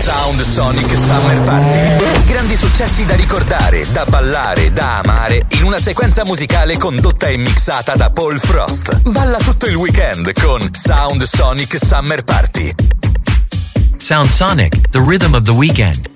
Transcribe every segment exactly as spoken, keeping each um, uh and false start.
Sound Sonic Summer Party. I grandi successi da ricordare, da ballare, da amare, in una sequenza musicale condotta e mixata da Paul Frost. Balla tutto il weekend con Sound Sonic Summer Party. Sound Sonic, the rhythm of the weekend.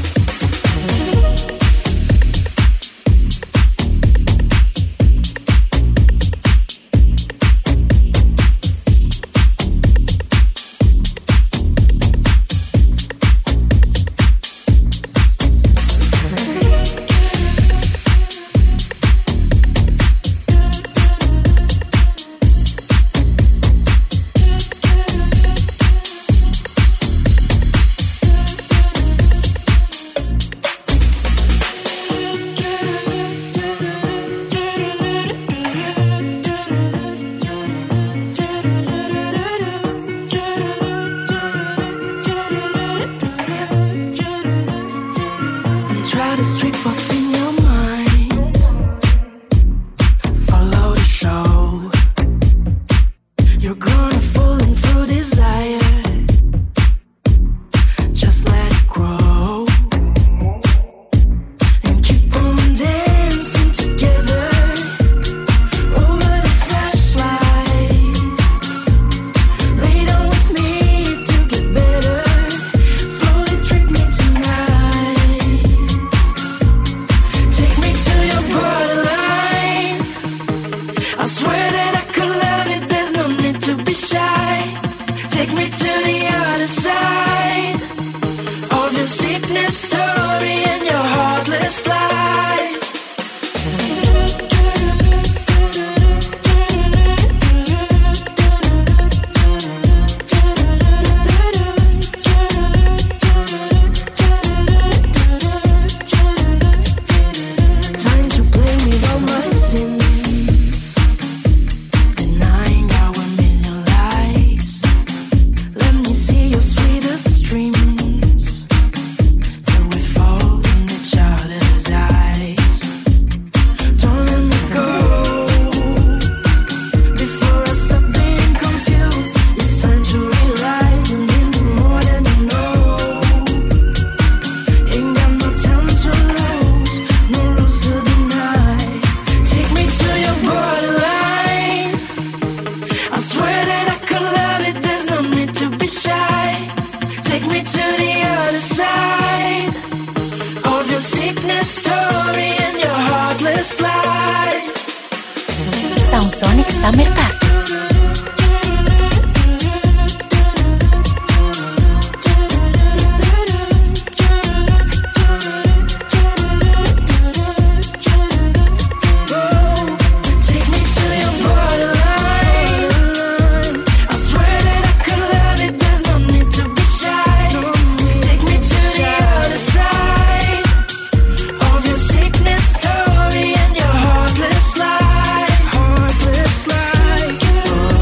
Sound Sonic Summer Party. Story and your heartless life, heartless life.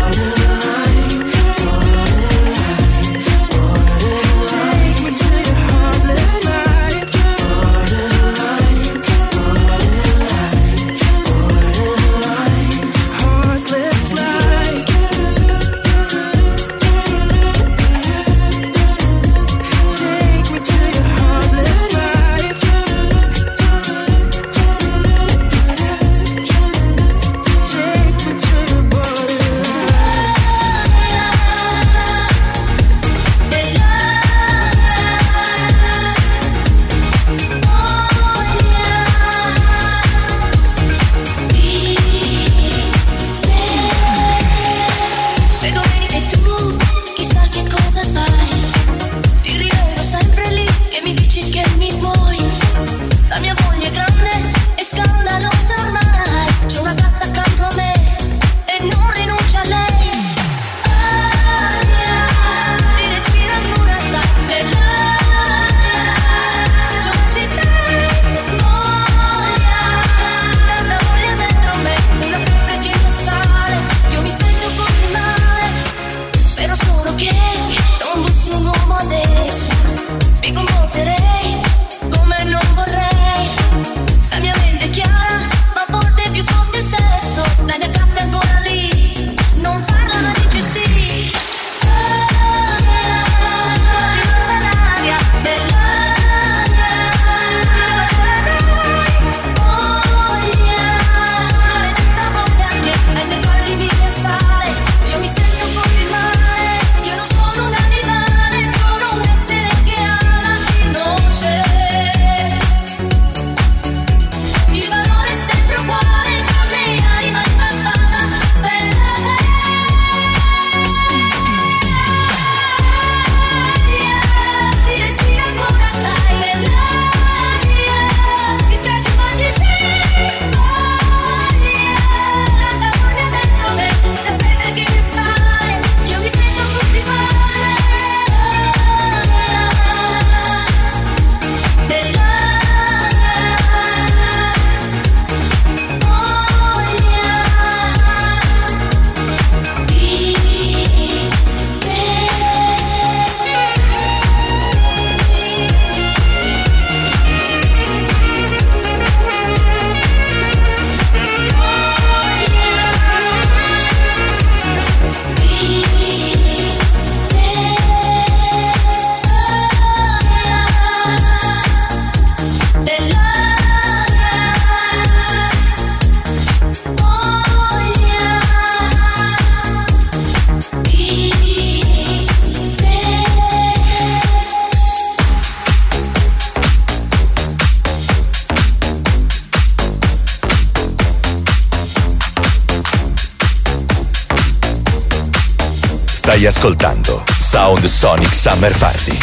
Stai ascoltando Sound Sonic Summer Party.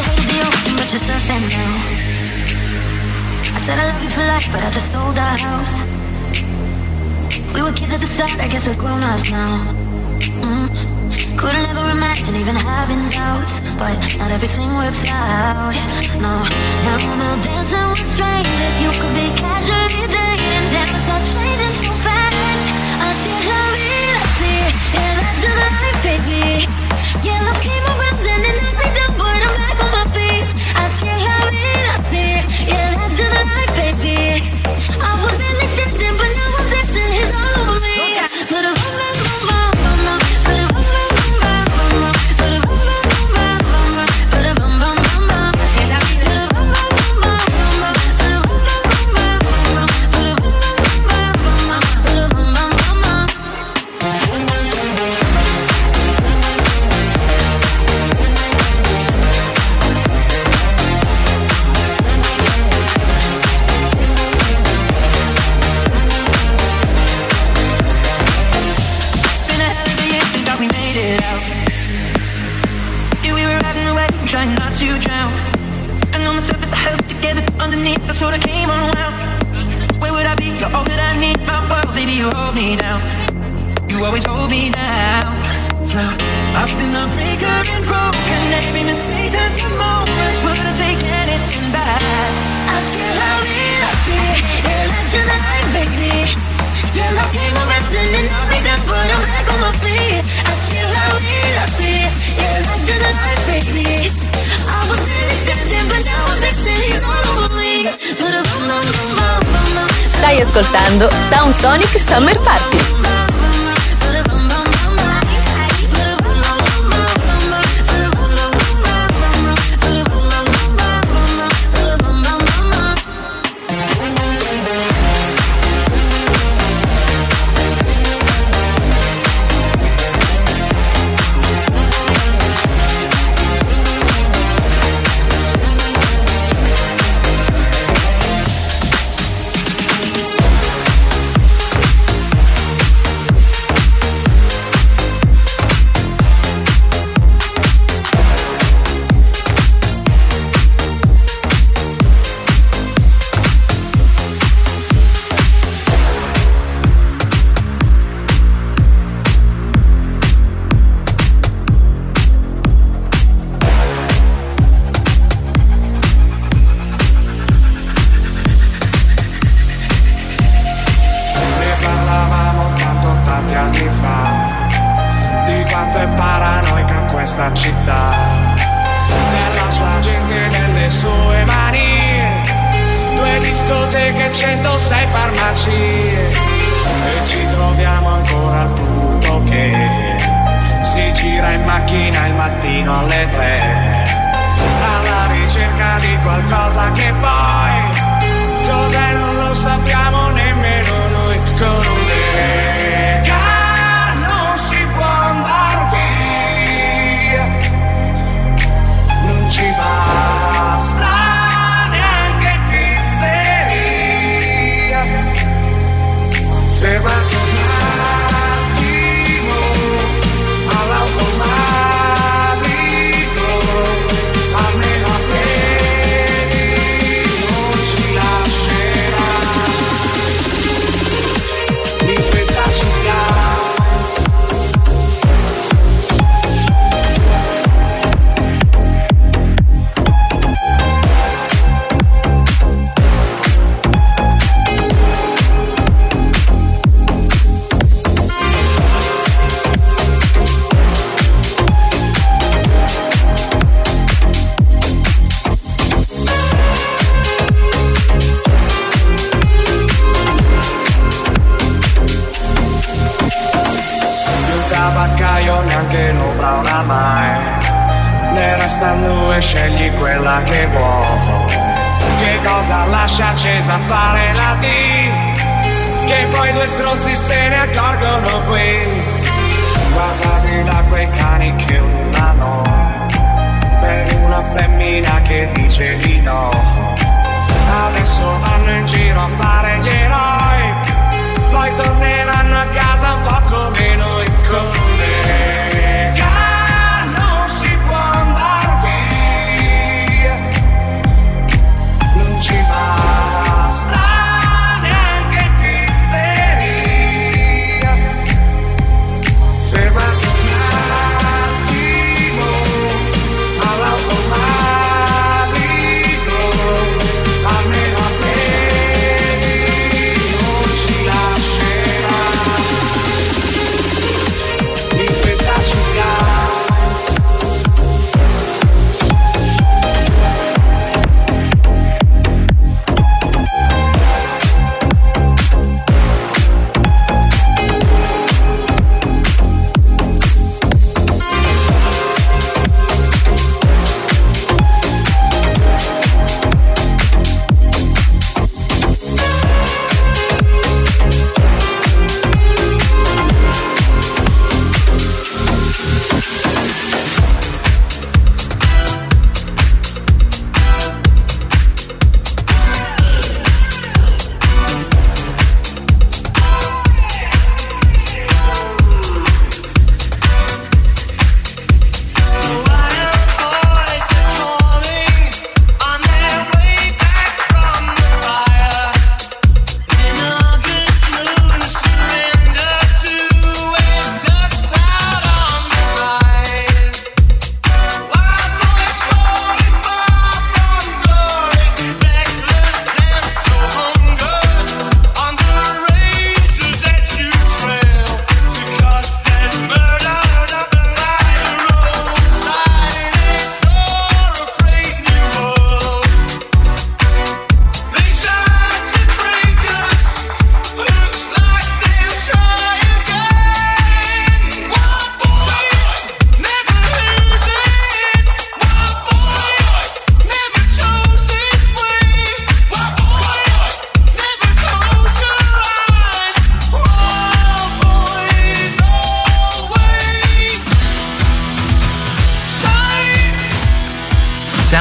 I said I love you for life, but I just sold our house. We were kids at the start, I guess we're grown-ups now. Mm. Couldn't ever imagine even having doubts, but not everything works out. No, now I'm out dancing with strangers. You could be casually dating, damn, it's all changing so fast. I see la vida, see, yeah, that's just life, baby. Yeah, love came around and it knocked me down, but I'm back on my feet. I see la vida, see, yeah, that's just life, baby. I was barely sitting, but now I'm dancing, he's all over me. Put a boom, boom, boom, boom, boom, put a boom, boom, boom, boom, put a boom, boom, boom, boom, put a boom, boom, boom, boom, put a boom, boom, boom, boom, put a boom, boom, boom, boom, put a boom, boom, boom, put a boom, boom, boom. Trying not to drown. And on the surface I held it together, underneath I sort of came unwound. Where would I be? You're all that I need. My world, baby, you hold me down. You always hold me down. Now, I've been a breaker and broken. Every mistake turns to moments. Would I take anything back? I see how we love it. Yeah, that's just life, baby. Your love came around and it knocked me down, but I'm back on my feet. I see how we love it. Yeah, that's just life, baby. I was really sitting, but now I'm dancing, he's all over me. Put a boom, boom, boom, boom, boom. Stai ascoltando Sound Sonic Summer Party. Adesso vanno in giro a fare gli eroi, poi torneranno a casa un po' come noi, con le gare.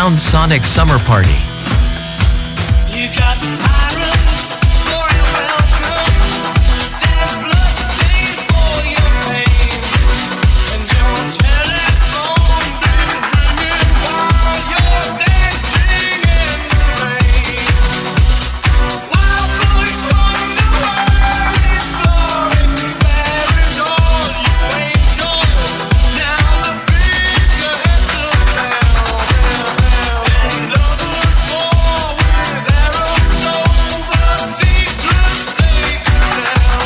Sound Sonic Summer Party. You got sirens for your welcome. There's blood stained for your pain, and your telephone been ringing while you're dancing in the rain. Wild boys wonder where he's blowing. Where is all you angels? Now the figureheads are down, and lovers fall with arrows over secrets they can tell.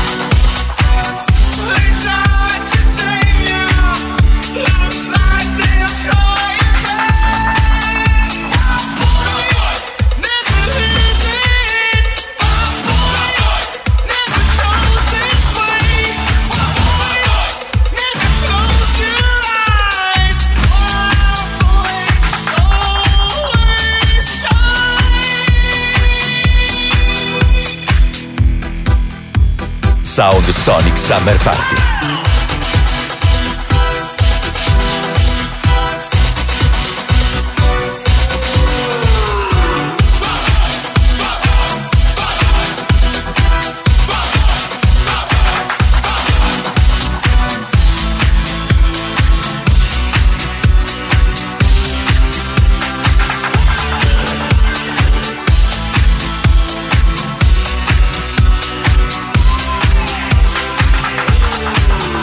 They tried to tame you. Looks like they're trying again. Boys never lived it. Boys never chose this way. Boys never close your eyes. Wild boys always shine. Sound Sonic Summer Party. We'll be right back.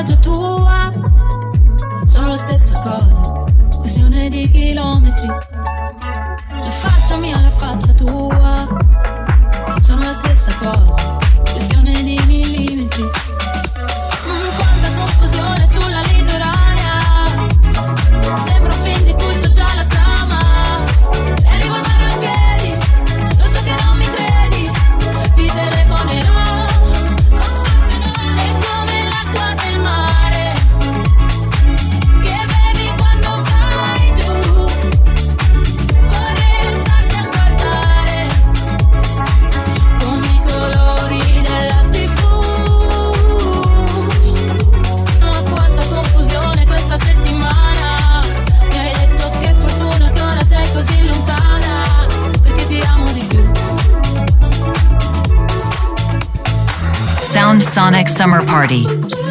spiaggia tua. Sono la stessa cosa, questione di chilometri. La faccia mia, la faccia tua. Sono la stessa cosa, questione di millimetri. Mm, quanta confusione sulla litoranea. Sembra un film di cui so già la trama. E arrivo al mare a piedi, lo so che non mi credi. Ti telefonerò, o forse no. È come l'acqua del mare che bevi quando vai giù. Vorrei restarti a guardare come i colori della tivù. Ma quanta confusione questa settimana. Mi hai detto che fortuna che ora sei così lontana, perché ti amo di più. Sound Sonic Summer Party.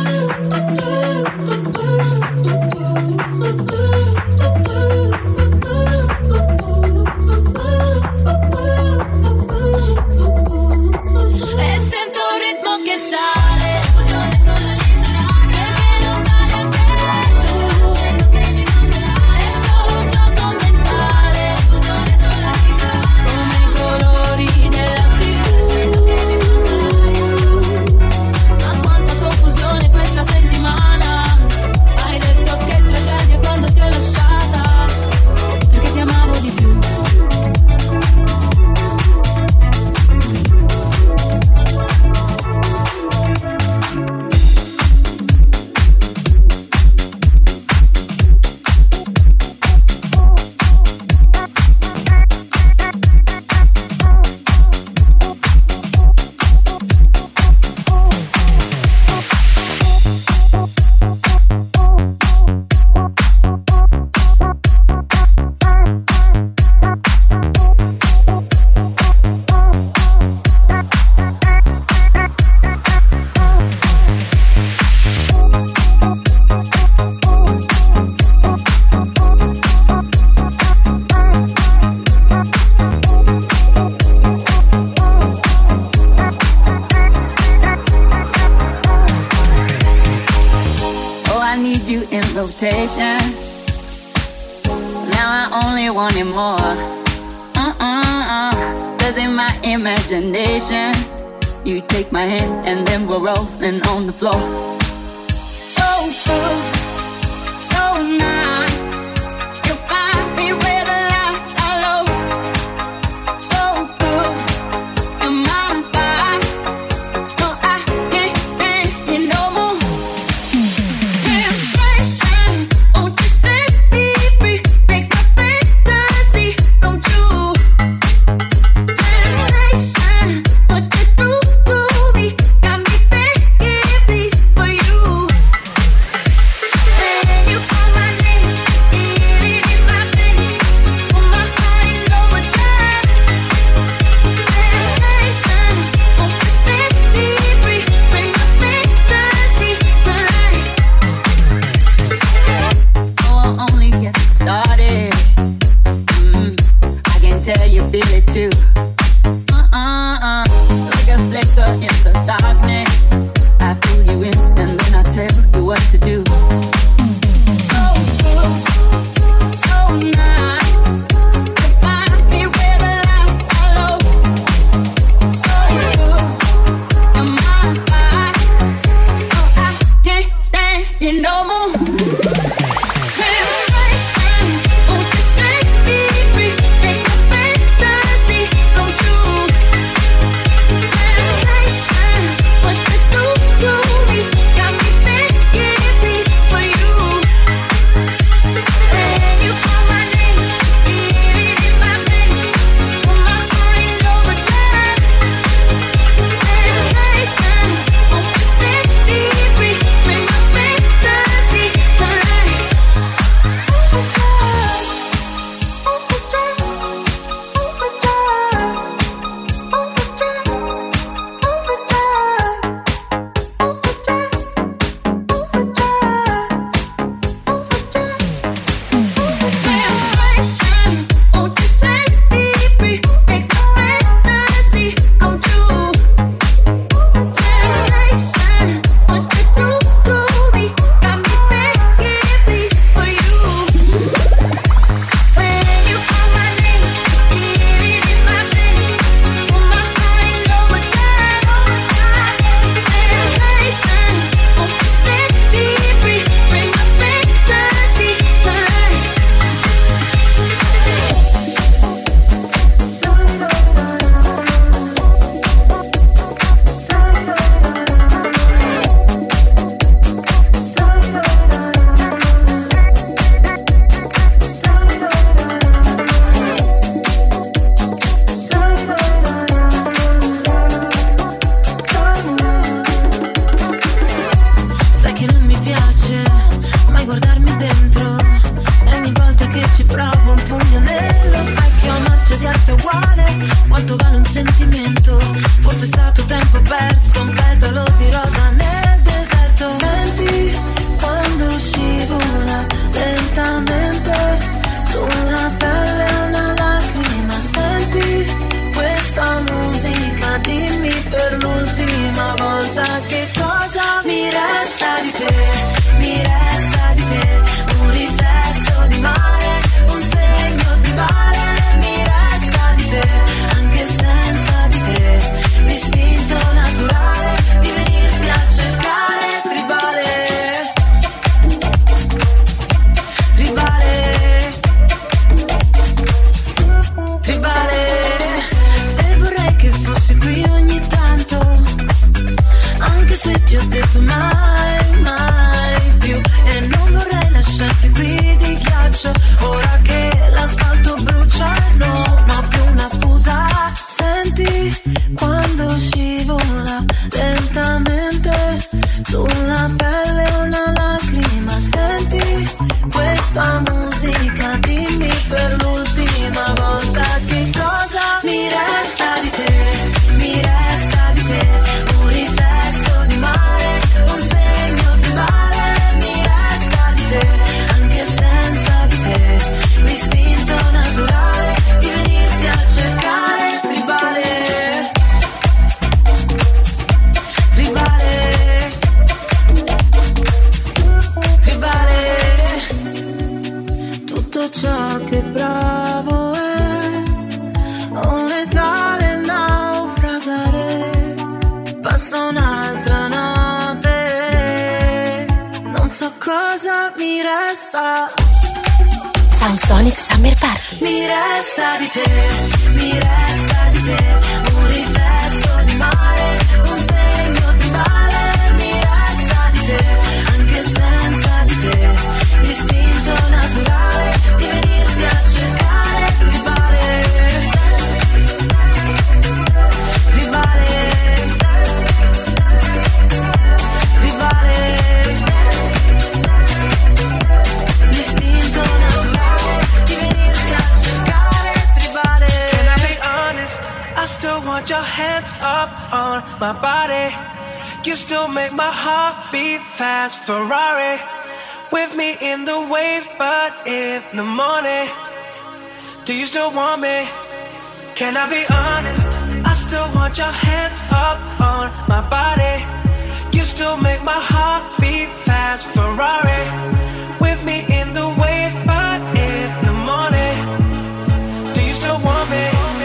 E sento un ritmo che sale, confusione sulla litoranea, che non sale a te. Scendo che mi mancherà, è solo un gioco mentale, confusione sulla litoranea, come i colori della tivù. Ma quanta confusione questa settimana. Hai detto che tragedia quando ti ho lasciata, perché ti amavo di più. Oh, I need you in rotation. Now I only want it more. Uh-uh-uh. Cause in my imagination, you take my hand and then we're rolling on the floor. So good, so nice. You find me where the lights are low. So good, you're my vibe. No, I can't stand it no more. Temptation, won't you set me free? Make my fantasy come true. Temptation, what you do to me got me begging please for you. Then you call my name, it in my vein, put my heart in overdrive. Temptation, won't you set me free? Bring my fantasy to life. Oh, I'll only get started. Mm, I can tell you feel it too. Uh-uh-uh. Like a flicker in the darkness. I pull you in and then I tell you what to do. So good, so nice. You find me where the lights are low. So good, you're my vibe. Oh, I can't stand it no more. Temptation, won't you set me free? Make my fantasy come true. Temptation, what you do to me got me begging please for you. Then you call my name, it in my vein, put my heart in overdrive. Temptation, won't you set me free? Bring my fantasy to quanto vale un sentimento. Forse è stato tempo perso, un petalo di rosa nel deserto. Senti quando scivola lentamente sulla pelle una lacrima. Senti questa musica, dimmi per l'ultima volta che cosa mi resta di te, mi resta di te, un riflesso di mare, un segno tribale, mi resta di te, anche senza di te, l'istinto naturale di venirti a cercare, tribale, tribale, tribale. E vorrei che fossi qui ogni tanto, anche se ti ho detto mai, mai più. E non vorrei lasciarti qui di ghiaccio, ora che l'asfalto brucia e non ho più una scusa. Senti quando scivola lentamente sulla pelle una lacrima. Senti questa musica, dimmi per l'ultima volta che cosa mi resta di te, mi resta di te, un riflesso di mare, un segno tribale, mi resta di te, anche senza di te, l'istinto naturale di venirti a cercare, tribale, tribale, tribale. Tutto ciò che provo è un letale naufragare. Passa un'altra notte, non so cosa mi resta. Sound Sonic Summer Party. Mi resta di te, mi resta di te, un riflesso di mare, un segno tribale, mi resta di te, anche senza di te, l'istinto naturale di venirti a cercare, tribale, tribale, tribale, l'istinto naturale di venirti a cercare, tribale. Can I be honest? I still want your hands up on my body. You still make my heart beat fast. Ferrari with me in the wave, but in the morning, do you still want me? Can I be honest? I still want your hands up on my body. You still make my heart beat fast. Ferrari with me in the wave, but in the morning, do you still want me?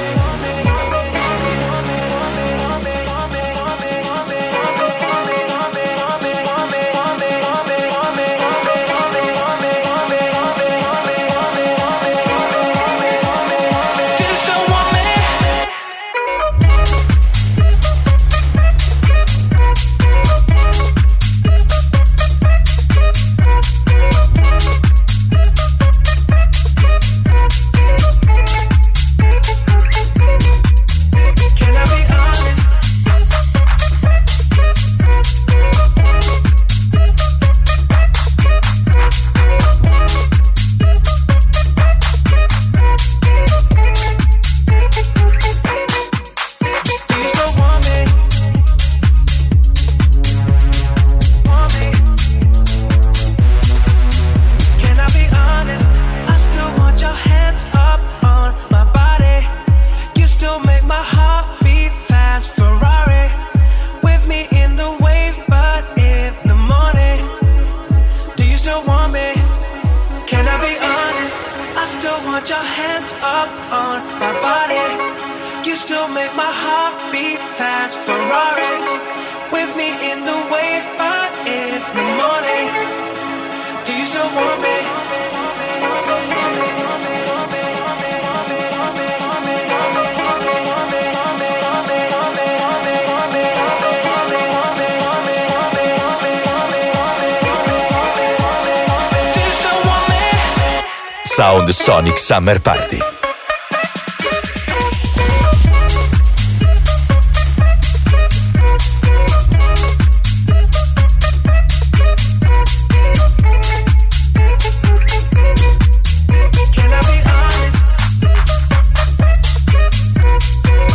Sound Sonic Summer Party. Can I be honest?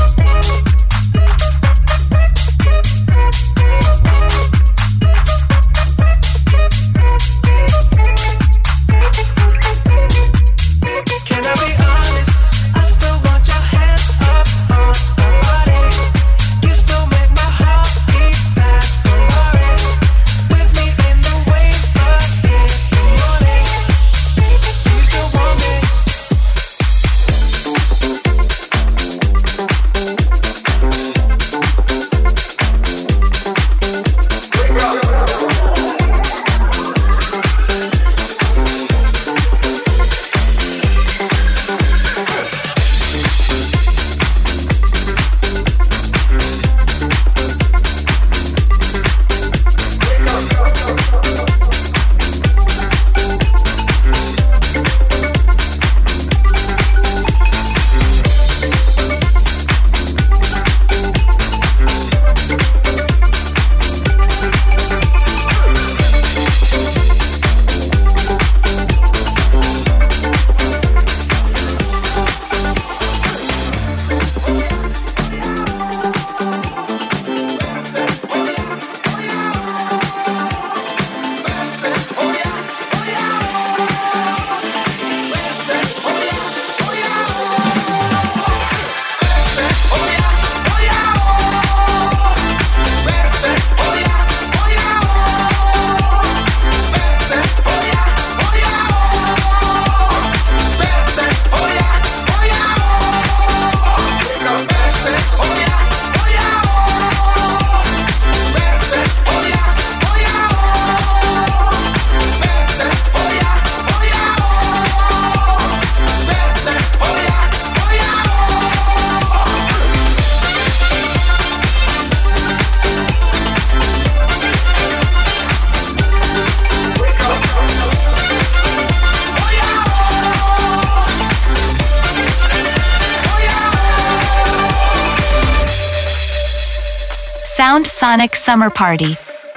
Sound Sonic Summer Party.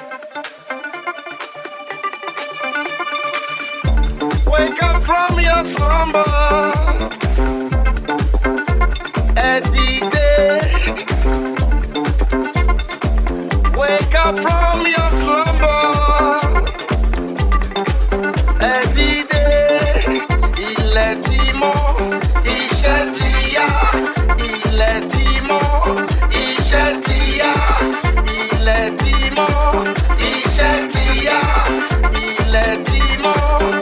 Wake up from your slumber. At the day. Wake up from your slumber. At the day. Il est dimanche, il châtia. Il est dimanche, il châtia. Il est dimanche, il châtia. Il est dimanche.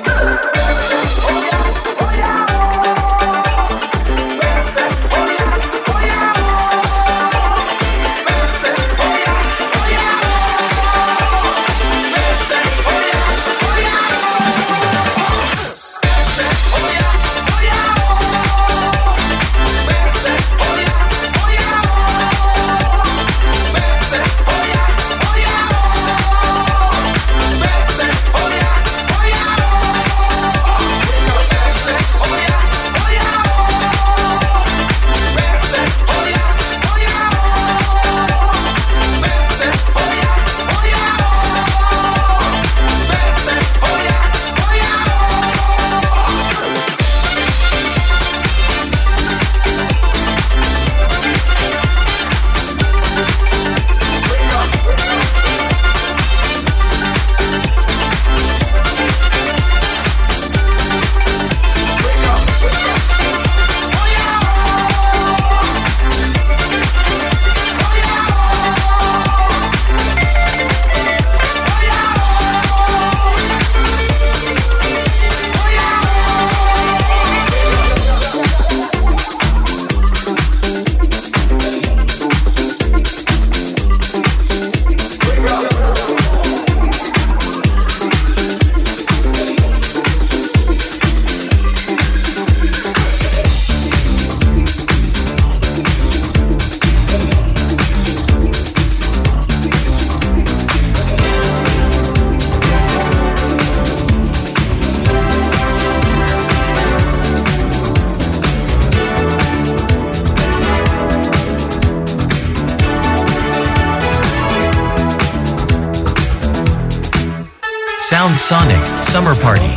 Sound Sonic Summer Party.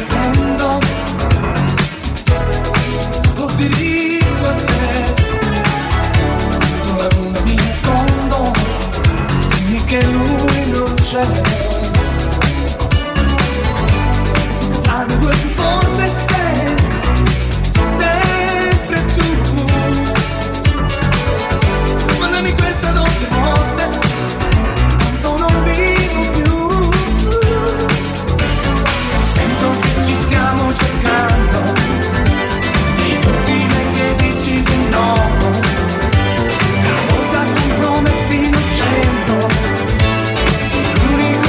Che lui non c'è, sangue più forte sei, sempre tu. Mandami questa doppia morte, tanto non vivo più. Sento che ci stiamo cercando, è inutile che dici di no. Stavolta compromessi non scendo. L'unico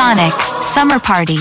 Sonic Summer Party.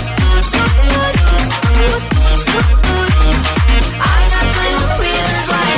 Reasons why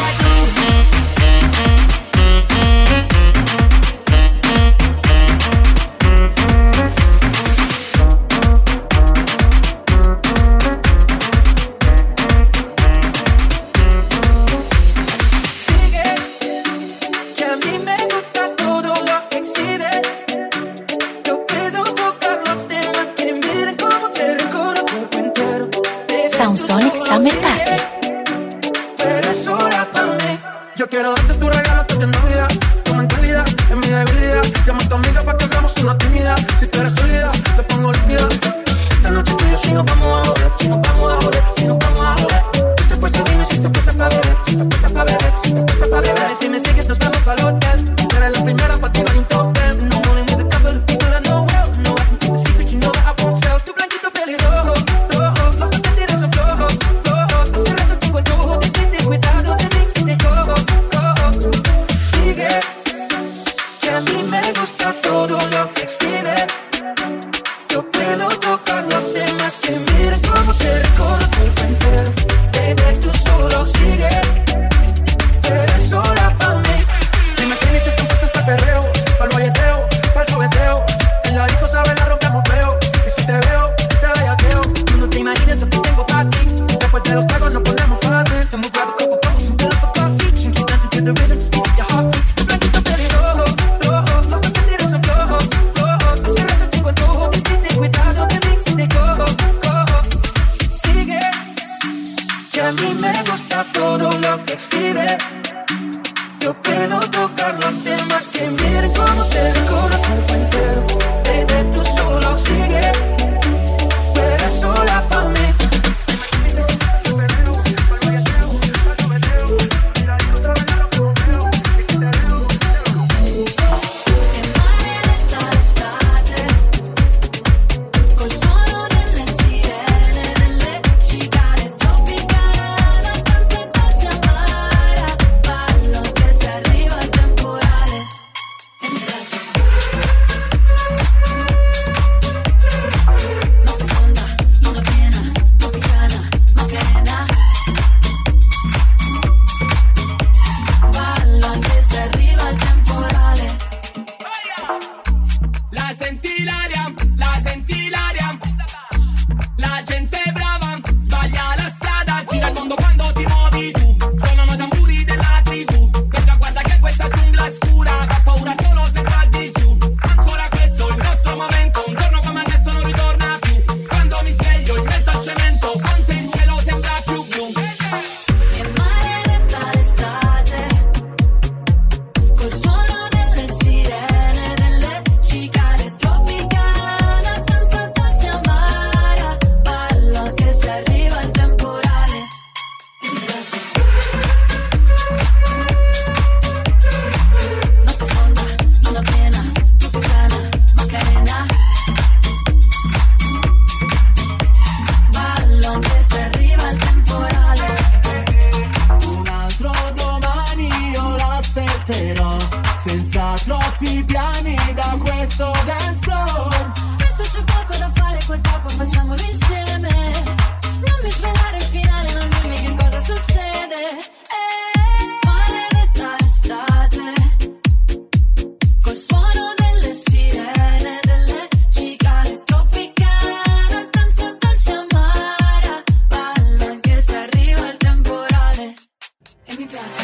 senza troppi piani da questo dance floor. E se c'è poco da fare, quel poco facciamolo insieme. Non mi svelare il finale, non dimmi che cosa succede. Eh, maledetta estate, col suono delle sirene, delle cicale tropicana, danza dolce amara, balla anche se arriva il temporale. E mi piace.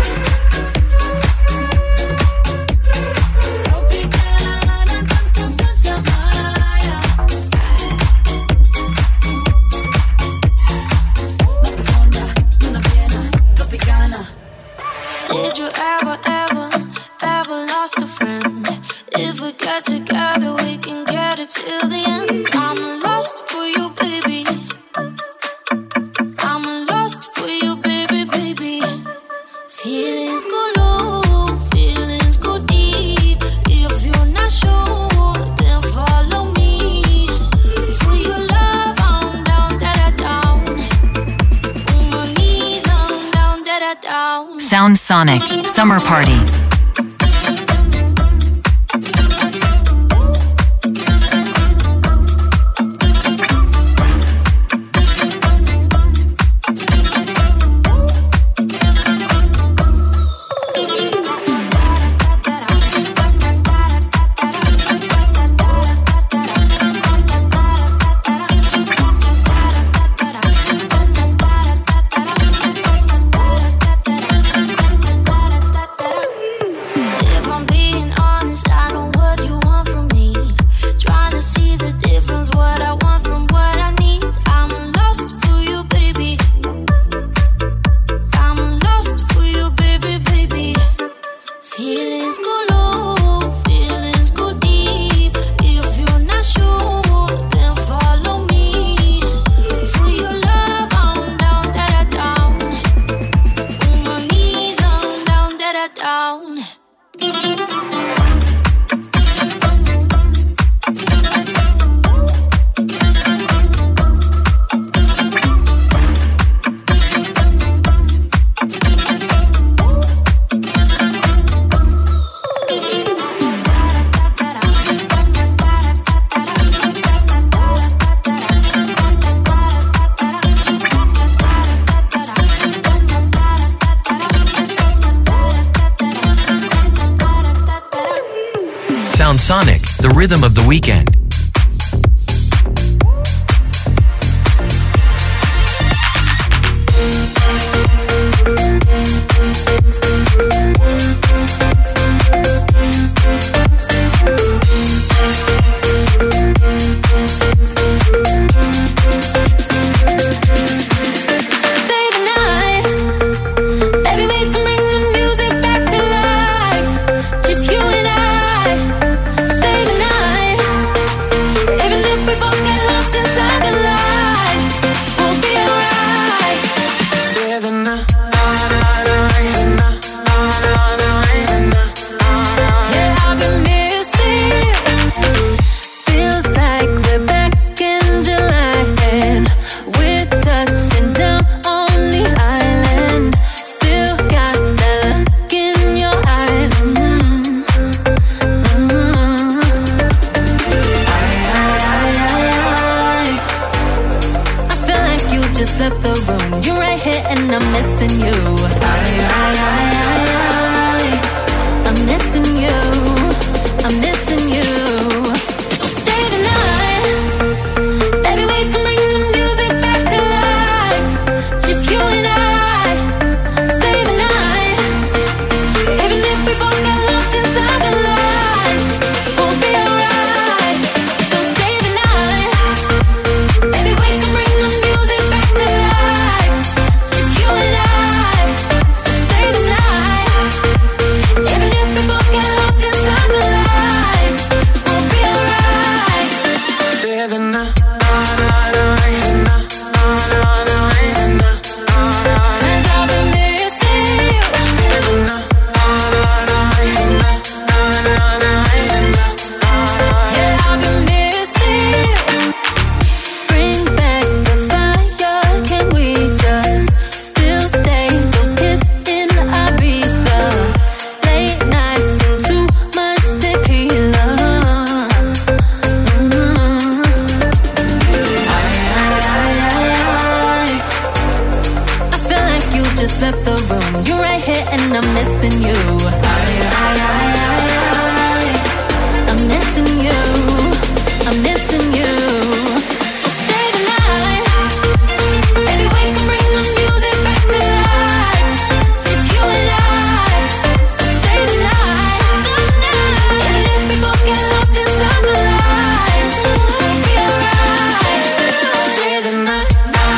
Did you ever, ever, ever lost a friend? If we get together, we can get it till the end. I'm lost for you, baby. I'm lost for you, baby, baby. Feelings go low, feelings go deep. If you're not sure, then follow me. For your love, I'm down, da da down. On my knees, I'm down, da da down. Sound Sonic Summer Party. Sound Sonic, the rhythm of the weekend. Stay the night. missing you. I, I, I, I, I, I'm missing you. I'm missing you. So stay the night. Baby, we can bring the music back to life. It's you and I. So stay the night. And if we both get lost inside the lights, we'll be alright. Stay the night.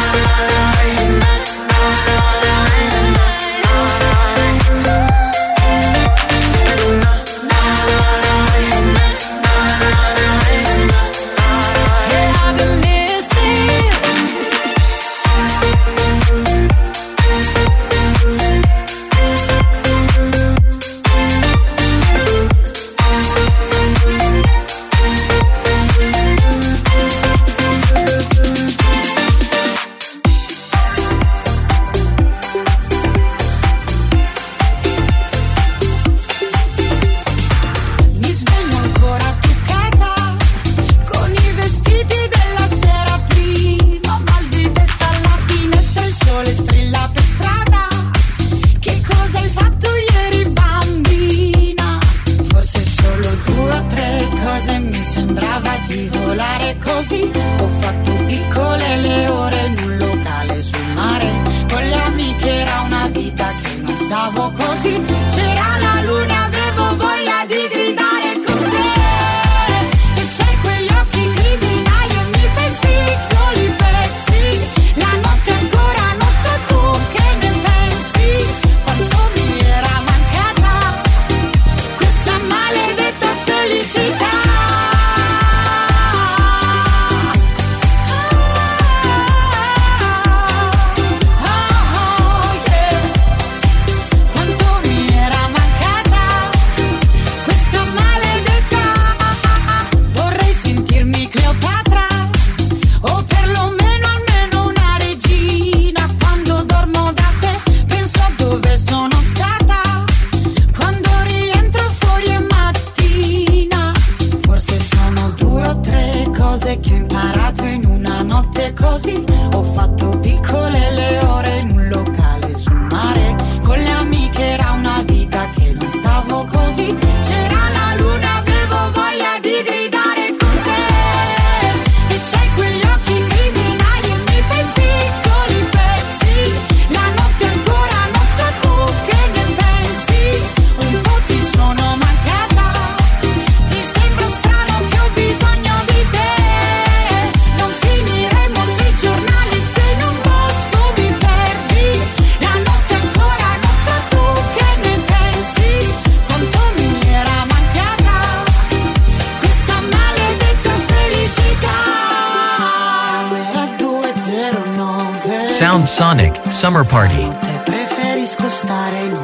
Sound Sonic Summer Party. Preferisco stare in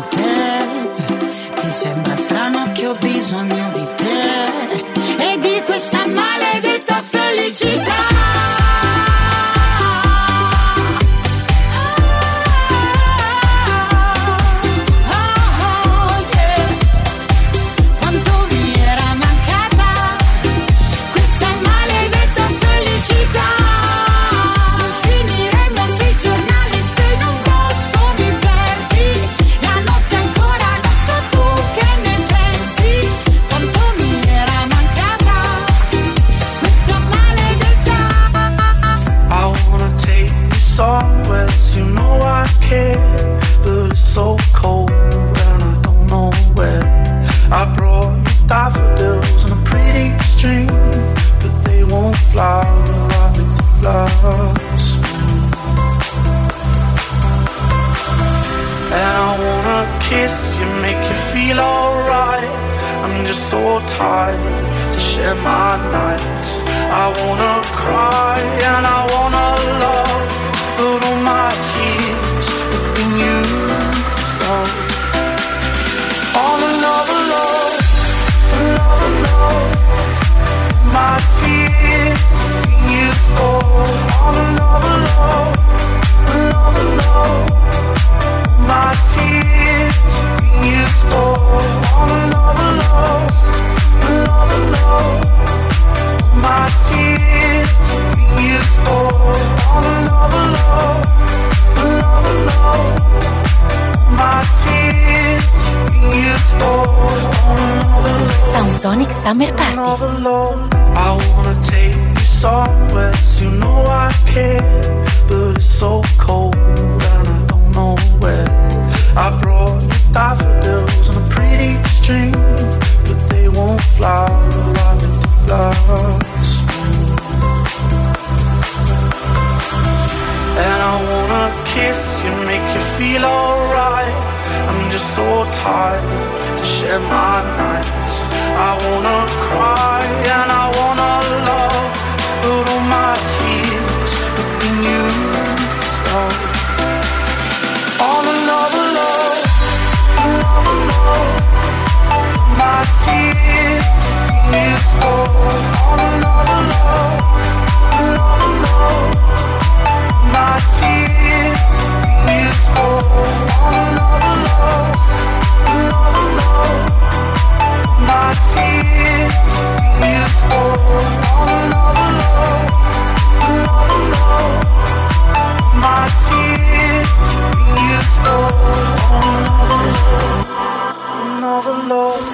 hotel. Ti sembra strano che ho bisogno di te e di questa maledetta felicità. So tired to share my nights. I wanna cry and I wanna love, but all my tears have been used up. All another love, another love. My tears have been used up. All another love, another love. My tears have been used up. All another love. Another love, my tears have been used for. On another love, another love, my tears. Sonic Summer Party. I wanna take you somewhere, you know I care, but it's so cold and I don't know where. I brought you daffodils on a pretty string, but they won't fly like last spring. And I wanna kiss you, make you feel alright. I'm just so tired to share my nights. I wanna cry and I wanna love, but all my tears have been used up on another love, another love. My tears have been used up on another love, another love. My tears have been used up on another love, another love. My tears have been used up on another love, another love. My tears have been used up on another love, another love.